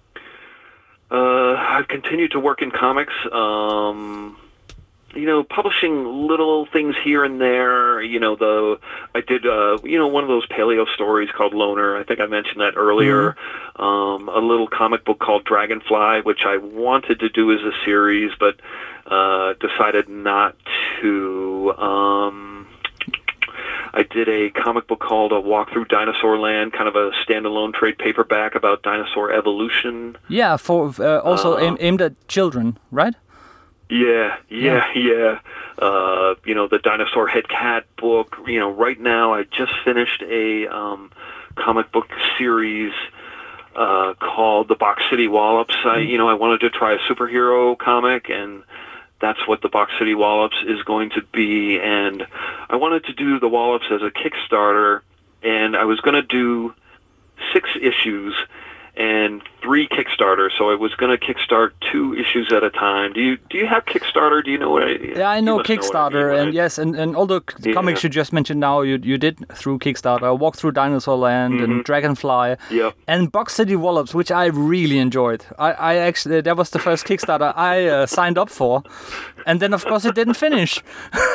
uh, I've continued to work in comics, um, you know, publishing little things here and there. You know, the I did, uh, you know, one of those paleo stories called Loner. I think I mentioned that earlier. Mm-hmm. Um, a little comic book called Dragonfly, which I wanted to do as a series, but uh, decided not to. Um, I did a comic book called A Walk Through Dinosaur Land, kind of a standalone trade paperback about dinosaur evolution. Yeah, for uh, also uh, aim, aimed at children, right? Yeah, yeah, yeah. yeah. Uh, you know, the Dinosaur Head Cat book. You know, right now I just finished a um, comic book series uh, called The Box City Wallops. I, you know, I wanted to try a superhero comic, and that's what The Box City Wallops is going to be. And I wanted to do the Wallops as a Kickstarter, and I was going to do six issues and three Kickstarter, so I was going to kickstart two issues at a time. Do you do you have Kickstarter? Do you know what I? Yeah, I know Kickstarter, know I mean, right? And yes, and, and all the yeah. comics you just mentioned now, you you did through Kickstarter. Walk Through Dinosaur Land mm-hmm. and Dragonfly, yep. and Box City Wallops, which I really enjoyed. I, I actually that was the first Kickstarter I uh, signed up for, and then of course it didn't finish.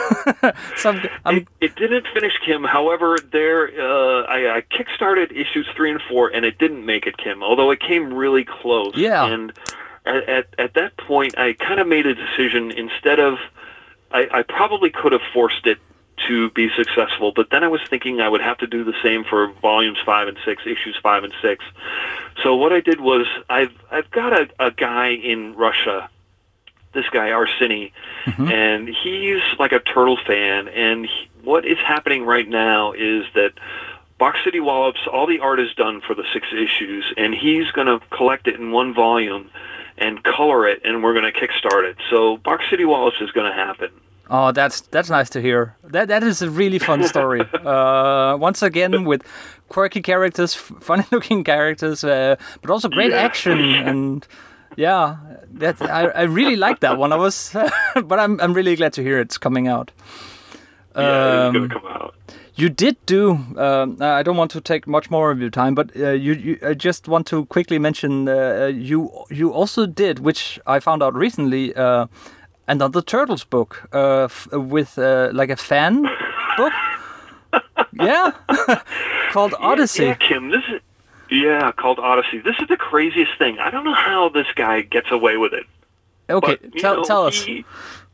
so it, it didn't finish, Kim. However, there uh, I, I kickstarted issues three and four, and it didn't make it, Kim. Although it came really close. Yeah. And at, at, at that point, I kind of made a decision. Instead of, I, I probably could have forced it to be successful, but then I was thinking I would have to do the same for volumes five and six, issues five and six. So what I did was, I've I've got a, a guy in Russia, this guy Arseny, mm-hmm. and he's like a turtle fan. And he, what is happening right now is that Box City Wallops, all the art is done for the six issues, and he's going to collect it in one volume and color it, and we're going to kickstart it. So Box City Wallops is going to happen. Oh, that's that's nice to hear. That that is a really fun story. uh, once again, with quirky characters, funny-looking characters, uh, but also great yeah. action and yeah, that I I really like that one. I was, but I'm I'm really glad to hear it's coming out. Yeah, um, it's going to come out. You did do. Um, I don't want to take much more of your time, but uh, you, you. I just want to quickly mention uh, you. You also did, which I found out recently, uh, another Turtles book uh, f- with uh, like a fan book. Yeah, called Odyssey. Yeah, yeah, Kim. This is yeah called Odyssey. This is the craziest thing. I don't know how this guy gets away with it. Okay, but, tell know, tell us. He,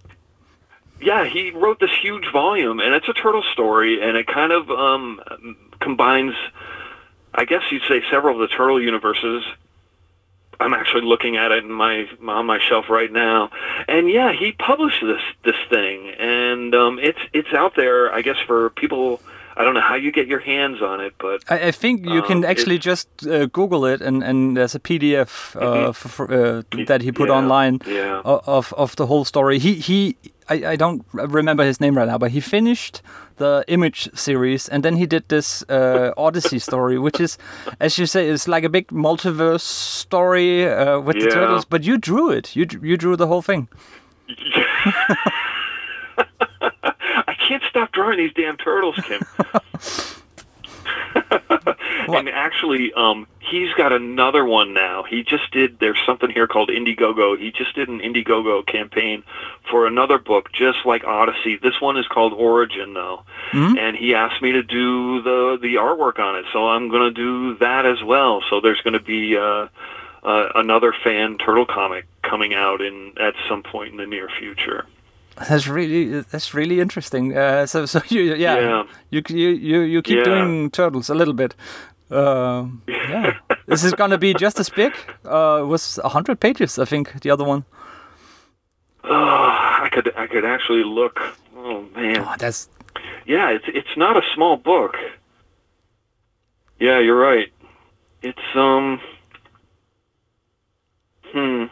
Yeah, he wrote this huge volume, and it's a turtle story, and it kind of um, combines, I guess you'd say, several of the turtle universes. I'm actually looking at it in my on my shelf right now, and yeah, he published this this thing, and um, it's it's out there, I guess, for people. I don't know how you get your hands on it, but I, I think you um, can actually just uh, Google it, and, and there's a P D F uh, mm-hmm. for, for, uh, that he put yeah, online yeah. of of the whole story. He he. I, I don't remember his name right now, but he finished the Image series, and then he did this uh, Odyssey story, which is, as you say, is like a big multiverse story uh, with yeah. the turtles. But you drew it. You you drew the whole thing. I can't stop drawing these damn turtles, Kim. And actually, um, he's got another one now. He just did, there's something here called Indiegogo. He just did an Indiegogo campaign for another book, just like Odyssey. This one is called Origin, though. Mm-hmm. And he asked me to do the, the artwork on it, so I'm going to do that as well. So there's going to be uh, uh, another fan turtle comic coming out in at some point in the near future. That's really that's really interesting. Uh, so so you yeah, yeah. you you you you keep yeah. doing turtles a little bit. Uh, yeah, this is gonna be just as big. Uh, it was a hundred pages, I think. The other one. Oh, I could I could actually look. Oh man, oh, that's yeah. It's it's not a small book. Yeah, you're right. It's um. Hmm.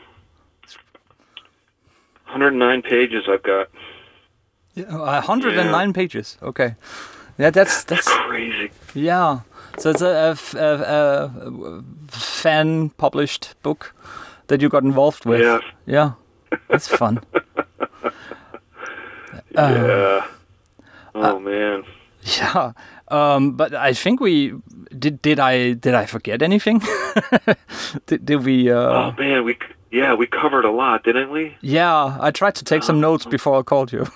one hundred nine pages I've got. Yeah, one hundred nine yeah. pages. Okay. Yeah, that's that's, that's crazy. Yeah. So it's a, a, a, a fan published book that you got involved with. Yeah. Yeah. That's fun. yeah. Uh, oh uh, man. Yeah, um, but I think we did. Did I did I forget anything? did, did we? Uh... Oh man, we yeah we covered a lot, didn't we? Yeah, I tried to take some notes before I called you.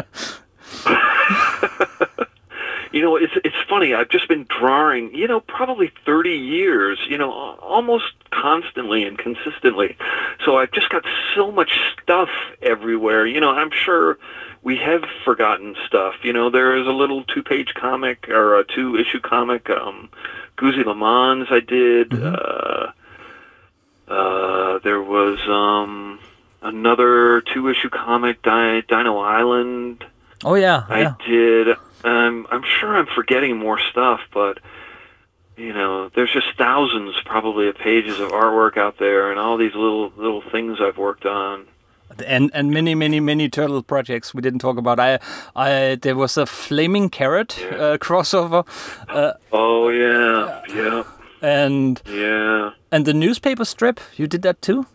You know, it's it's funny. I've just been drawing, you know, probably thirty years, you know, almost constantly and consistently. So I've just got so much stuff everywhere. You know, I'm sure we have forgotten stuff. You know, there is a little two-page comic or a two-issue comic, um, Guzzi Le Mans I did. Mm-hmm. Uh, uh, there was um, another two-issue comic, Di- Dino Island. Oh, yeah. I yeah. did. Um, I'm sure I'm forgetting more stuff, but, you know, there's just thousands probably of pages of artwork out there and all these little little things I've worked on. And and many, many, many turtle projects we didn't talk about. I, I There was a Flaming Carrot yeah. uh, crossover. Uh, oh, yeah, yeah. And, yeah. and the newspaper strip, you did that too?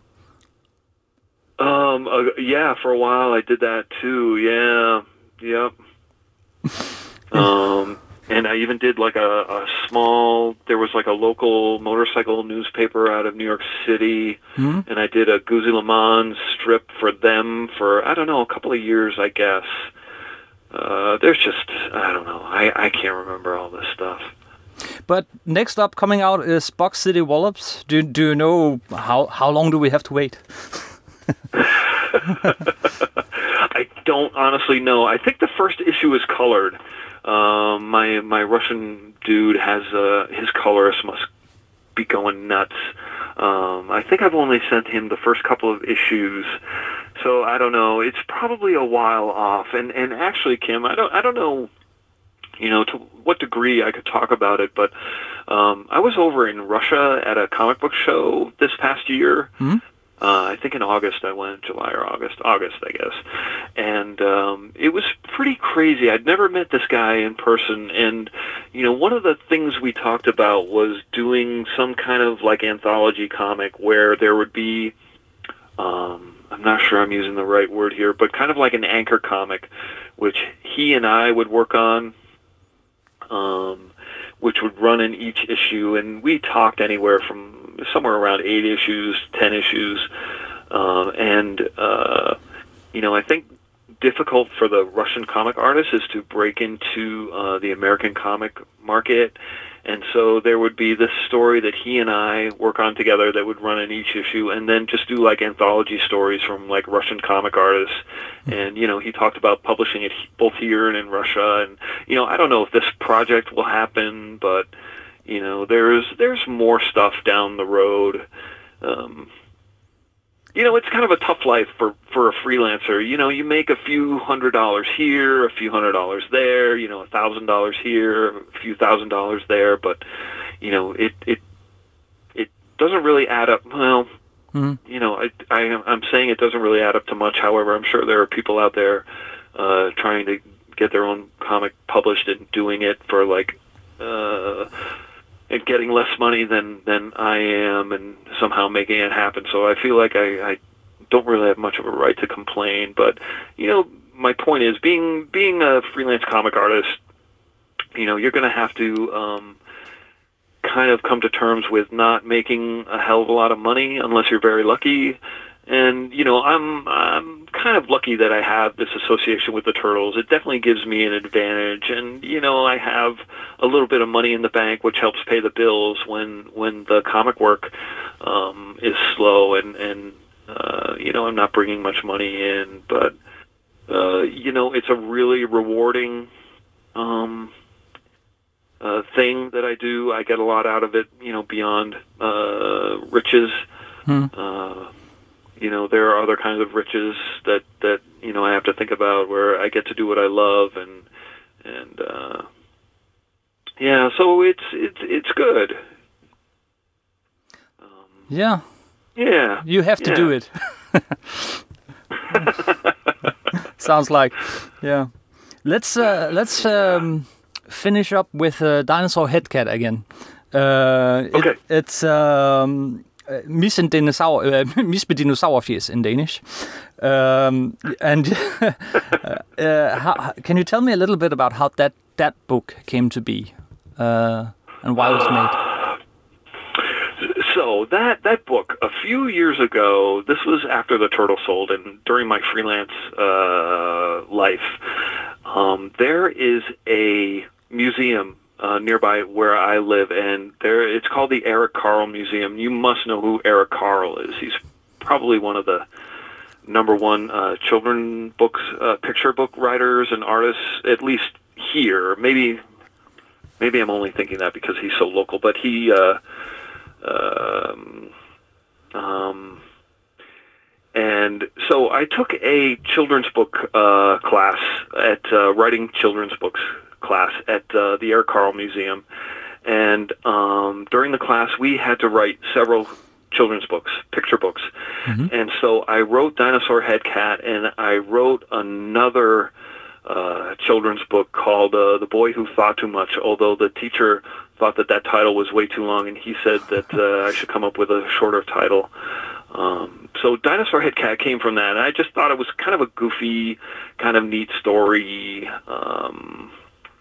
Um. Uh, yeah, for a while I did that too, yeah, yep. um, and I even did like a, a small, there was like a local motorcycle newspaper out of New York City, mm-hmm. and I did a Guzzi Le Mans strip for them for, I don't know, a couple of years, I guess. Uh, there's just, I don't know, I, I can't remember all this stuff. But next up coming out is Box City Wallops. Do, do you know how, how long do we have to wait? I don't honestly know. I think the first issue is colored. Um, my my Russian dude has uh, his colorist must be going nuts. Um, I think I've only sent him the first couple of issues, so I don't know. It's probably a while off. And and actually, Kim, I don't I don't know, you know, to what degree I could talk about it, but um, I was over in Russia at a comic book show this past year. Mm-hmm. Uh, I think in August I went, July or August, August I guess, and um, it was pretty crazy. I'd never met this guy in person, and you know, one of the things we talked about was doing some kind of like anthology comic where there would be, um, I'm not sure I'm using the right word here, but kind of like an anchor comic, which he and I would work on. Um, which would run in each issue, and we talked anywhere from somewhere around eight issues, ten issues, um, and uh, you know, I think difficult for the Russian comic artists is to break into uh, the American comic market, and so there would be this story that he and I work on together that would run in each issue, and then just do like anthology stories from like Russian comic artists. And, you know, he talked about publishing it both here and in Russia. And, you know, I don't know if this project will happen, but, you know, there's there's more stuff down the road. Um, you know, it's kind of a tough life for, for a freelancer. You know, you make a few hundred dollars here, a few hundred dollars there, you know, a thousand dollars here, a few thousand dollars there. But, you know, it it it doesn't really add up. Well, mm-hmm. you know, I, I, I'm saying it doesn't really add up to much. However, I'm sure there are people out there uh, trying to get their own comic published and doing it for like, uh, and getting less money than, than I am and somehow making it happen. So I feel like I, I don't really have much of a right to complain. But, you know, my point is being being a freelance comic artist, you know, you're going to have to um, kind of come to terms with not making a hell of a lot of money unless you're very lucky. And, you know, I'm I'm kind of lucky that I have this association with the Turtles. It definitely gives me an advantage. And, you know, I have a little bit of money in the bank, which helps pay the bills when when the comic work um, is slow. And, and uh, you know, I'm not bringing much money in. But, uh, you know, it's a really rewarding um, uh, thing that I do. I get a lot out of it, you know, beyond uh, riches. Hmm. Uh You know, there are other kinds of riches that, that, you know, I have to think about where I get to do what I love and, and, uh, yeah, so it's, it's, it's good. Um, yeah. Yeah. You have to yeah. do it. Sounds like, yeah. Let's, uh, let's, um, finish up with uh, Dinosaur Headcat again. Uh, okay. It, it's, um, Uh, Miss and dinosaur, uh, Miss med dinosaurfjes in Danish, um, and uh, uh, how, can you tell me a little bit about how that that book came to be, uh, and why it was made. So that that book, a few years ago, this was after The Turtle sold, and during my freelance uh, life, um, there is a museum uh, nearby where I live, and there it's called the Eric Carle Museum. You must know who Eric Carle is. He's probably one of the number one uh, children books, uh, picture book writers and artists, at least here. Maybe, maybe I'm only thinking that because he's so local, but he. Uh, Um, um, and so I took a children's book uh, class at uh, writing children's books class at uh, the Eric Carle Museum, and um, during the class we had to write several children's books, picture books, mm-hmm. and so I wrote Dinosaur Head Cat, and I wrote another uh, children's book called uh, The Boy Who Thought Too Much, although the teacher thought that that title was way too long, and he said that uh, I should come up with a shorter title. Um, so Dinosaur Head Cat came from that, and I just thought it was kind of a goofy, kind of neat story. Um,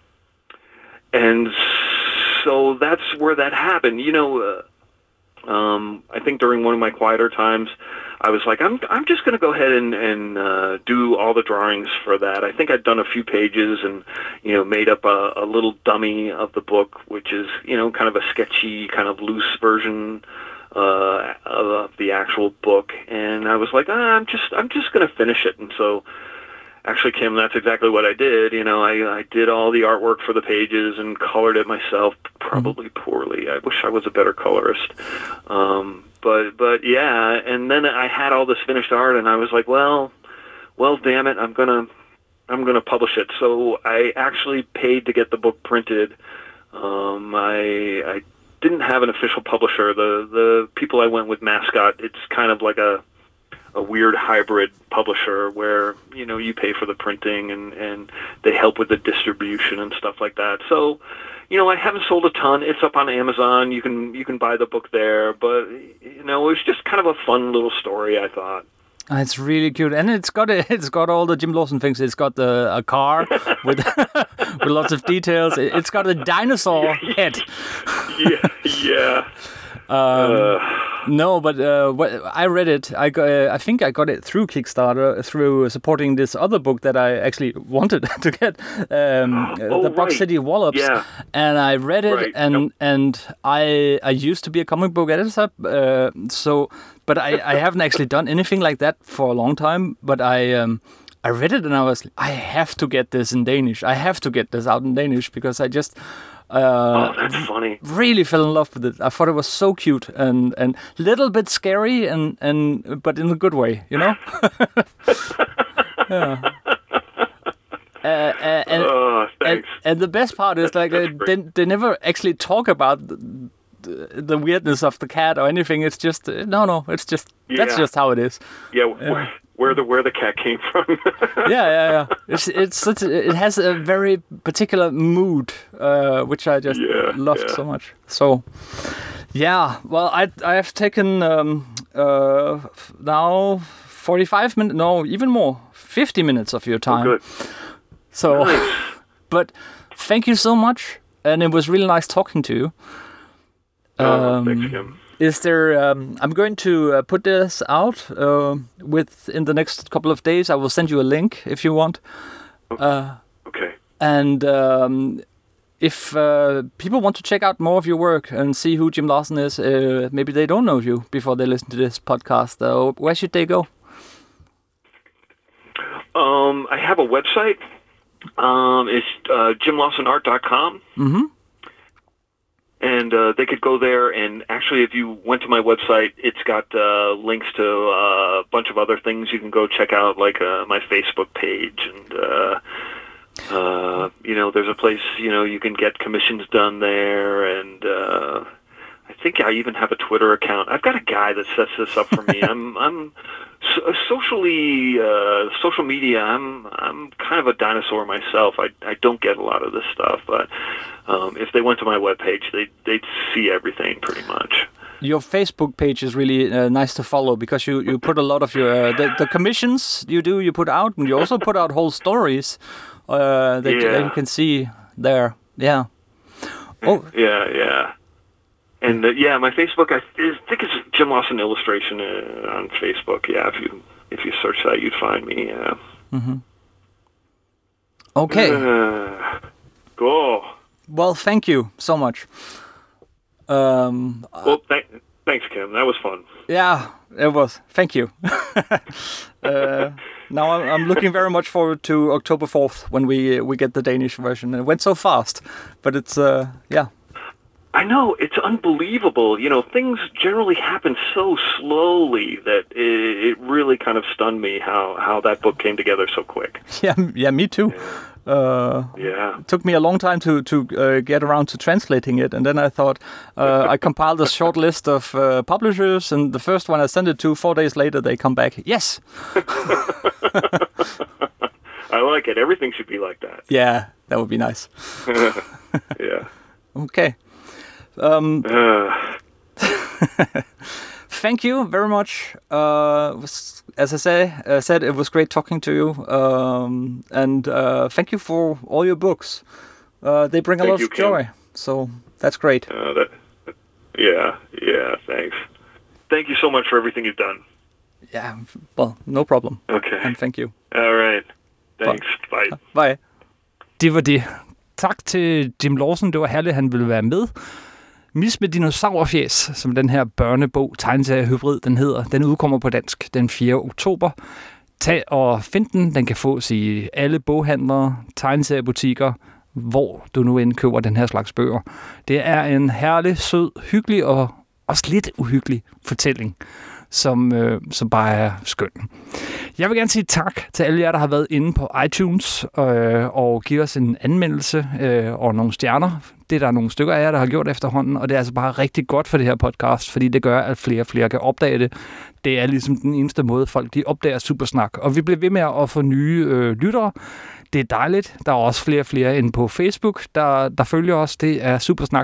and so that's where that happened. You know, uh, um, I think during one of my quieter times, I was like, I'm I'm just going to go ahead and, and uh, do all the drawings for that. I think I'd done a few pages and, you know, made up a, a little dummy of the book, which is, you know, kind of a sketchy, kind of loose version uh, of the actual book. And I was like, ah, I'm just I'm just going to finish it. And so, actually, Kim, that's exactly what I did. You know, I, I did all the artwork for the pages and colored it myself, probably poorly. I wish I was a better colorist. Um, But but yeah, and then I had all this finished art, and I was like, well, well, damn it, I'm gonna I'm gonna publish it. So I actually paid to get the book printed. Um, I I didn't have an official publisher. The the people I went with, Mascot, it's kind of like a a weird hybrid publisher where, you know, you pay for the printing and and they help with the distribution and stuff like that. So, you know, I haven't sold a ton. It's up on Amazon. You can you can buy the book there. But, you know, it was just kind of a fun little story, I thought. It's really cute, and it's got it's got all the Jim Lawson things. It's got the a car with with lots of details. It's got a dinosaur head. yeah, yeah. Um, uh, no, but uh, what, I read it. I got, uh, I think I got it through Kickstarter, through supporting this other book that I actually wanted to get, um, oh, the Box right. City Wallops. Yeah. And I read it, right. and yep. and I I used to be a comic book editor, uh, so but I, I haven't actually done anything like that for a long time. But I um, I read it and I was, I have to get this in Danish. I have to get this out in Danish because I just. Uh, oh, that's funny. Really fell in love with it. I thought it was so cute and and little bit scary and and but in a good way, you know. yeah. Uh, uh, and, oh, and and the best part is like uh, they they never actually talk about the, the, the weirdness of the cat or anything. It's just uh, no, no. It's just yeah. that's just how it is. Yeah. yeah. Where, where the where the cat came from. yeah, yeah, yeah. It's it's such a, it has a very particular mood, uh, which I just yeah, loved yeah. so much. So, yeah. Well, I I have taken um, uh, now forty-five minutes, no, even more, fifty minutes of your time. Oh, good. So, nice. But thank you so much, and it was really nice talking to you. Oh, um, thanks, Kim. Is there? Um, I'm going to uh, put this out uh, with in the next couple of days. I will send you a link if you want. Uh, okay. And um, if uh, people want to check out more of your work and see who Jim Lawson is, uh, maybe they don't know you before they listen to this podcast. Uh, where should they go? Um, I have a website. Um, it's uh, jim lawson art dot com. Mm-hmm. And uh, they could go there, and actually, if you went to my website, it's got uh, links to uh, a bunch of other things you can go check out, like uh, my Facebook page, and uh, uh, you know, there's a place, you know, you can get commissions done there, and uh, I think I even have a Twitter account. I've got a guy that sets this up for me. I'm I'm so, socially uh, social media. I'm I'm kind of a dinosaur myself. I I don't get a lot of this stuff, but um, if they went to my webpage, they they'd see everything pretty much. Your Facebook page is really uh, nice to follow because you, you put a lot of your uh, the, the commissions you do you put out, and you also put out whole stories uh, that, yeah. that you can see. there. Yeah. Oh. Yeah, yeah. And uh, yeah, my Facebook, I think it's Jim Lawson Illustration uh, on Facebook. Yeah, if you if you search that, you'd find me. Yeah. Mm-hmm. Okay. Uh, cool. Well, thank you so much. Um, well, th- thanks, Kim. That was fun. Yeah, it was. Thank you. uh, now I'm, I'm looking very much forward to October fourth when we we get the Danish version. It went so fast, but it's uh, yeah. I know, it's unbelievable. You know, things generally happen so slowly that it, it really kind of stunned me how, how that book came together so quick. Yeah, yeah, me too. Yeah. Uh, yeah. It took me a long time to, to uh, get around to translating it, and then I thought, uh, I compiled a short list of uh, publishers, and the first one I sent it to, four days later, they come back, yes! I like it. Everything should be like that. Yeah, that would be nice. Yeah. Okay. Um, uh. Thank you very much. Uh, was, as I say, uh, said, it was great talking to you. Um, and uh, thank you for all your books. Uh, they bring a thank lot you, of joy. Kim. So that's great. Uh, that, yeah, yeah, thanks. Thank you so much for everything you've done. Yeah, well, no problem. Okay. And thank you. All right. Thanks. Bye. Bye. Det var det. Tak til Jim Lawson. Det var herligt, at han ville være med. Mis med dinosaurfjæs, som den her børnebog, tegneseriehybrid, den hedder. Den udkommer på dansk den fjerde oktober. Tag og find den. Den kan fås i alle boghandlere, tegneseriebutikker, hvor du nu end køber den her slags bøger. Det er en herlig, sød, hyggelig og også lidt uhyggelig fortælling, som, øh, som bare er skøn. Jeg vil gerne sige tak til alle jer, der har været inde på iTunes øh, og give os en anmeldelse øh, og nogle stjerner. Det er der nogle stykker af jer, der har gjort efterhånden, og det er altså bare rigtig godt for det her podcast, fordi det gør, at flere og flere kan opdage det. Det er ligesom den eneste måde, folk de opdager Supersnak. Og vi bliver ved med at få nye øh, lyttere. Det er dejligt. Der er også flere og flere inde på Facebook, der, der følger os. Det er supersnak.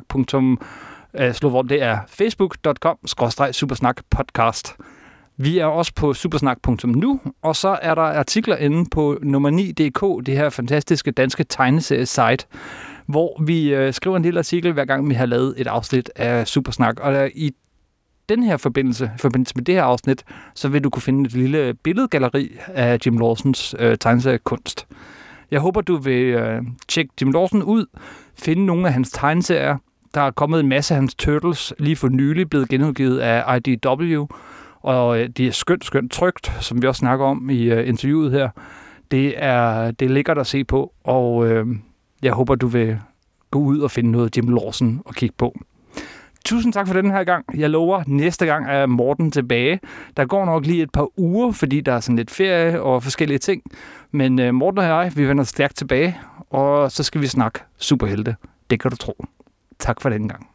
Slå det er facebook punktum com skråstreg supersnak podcast. Vi er også på supersnak punktum nu, og så er der artikler inde på nummer ni punktum d k, det her fantastiske danske tegneseriesite, hvor vi øh, skriver en lille artikel, hver gang vi har lavet et afsnit af Supersnak. Og der, i den her forbindelse, i forbindelse med det her afsnit, så vil du kunne finde et lille billedgalleri af Jim Lawsons øh, tegneseriekunst. Jeg håber, du vil øh, tjekke Jim Lawson ud, finde nogle af hans tegneserier. Der er kommet en masse af hans Turtles, lige for nylig blevet genudgivet af I D W, og øh, det er skønt, skønt trygt, som vi også snakker om i øh, interviewet her. Det er, det er lækkert at se på, og øh, jeg håber, du vil gå ud og finde noget Jim Lawson og kigge på. Tusind tak for den her gang. Jeg lover, næste gang er Morten tilbage. Der går nok lige et par uger, fordi der er sådan lidt ferie og forskellige ting. Men øh, Morten og jeg, vi vender stærkt tilbage, og så skal vi snakke superhelte. Det kan du tro. Tak for den gang.